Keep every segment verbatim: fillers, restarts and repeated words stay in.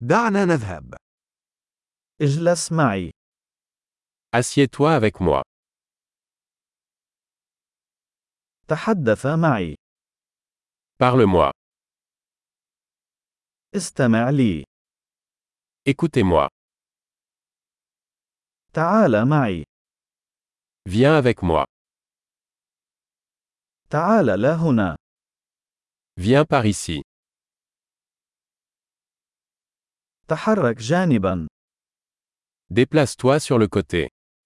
دعنا نذهب. اجلس معي. Assieds-toi avec moi. تحدث معي. Parle-moi. استمع لي. Écoutez-moi. تعال معي. Viens avec moi. تعال لا هنا. Viens par ici. تحرك جانبا. Déplace-toi sur le côté.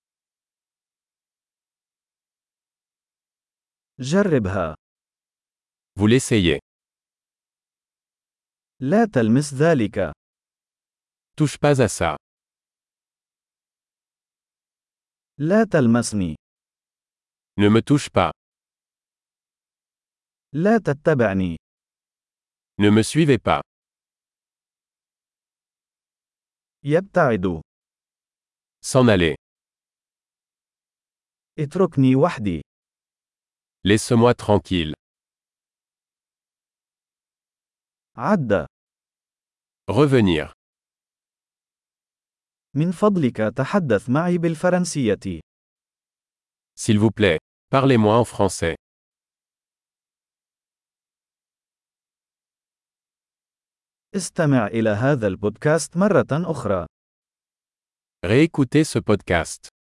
جربها. Vous l'essayez. لا تلمس ذلك. Touche pas à ça. لا تلمسني. Ne me touche pas. لا تتبعني. Ne me suivez pas. يبتعد. S'en aller. اتركني وحدي. Laisse-moi tranquille. عد. Revenir. من فضلك تحدث معي بالفرنسية. S'il vous plaît, parlez-moi en français. استمع إلى هذا البودكاست مرة أخرى. Réécoutez ce podcast.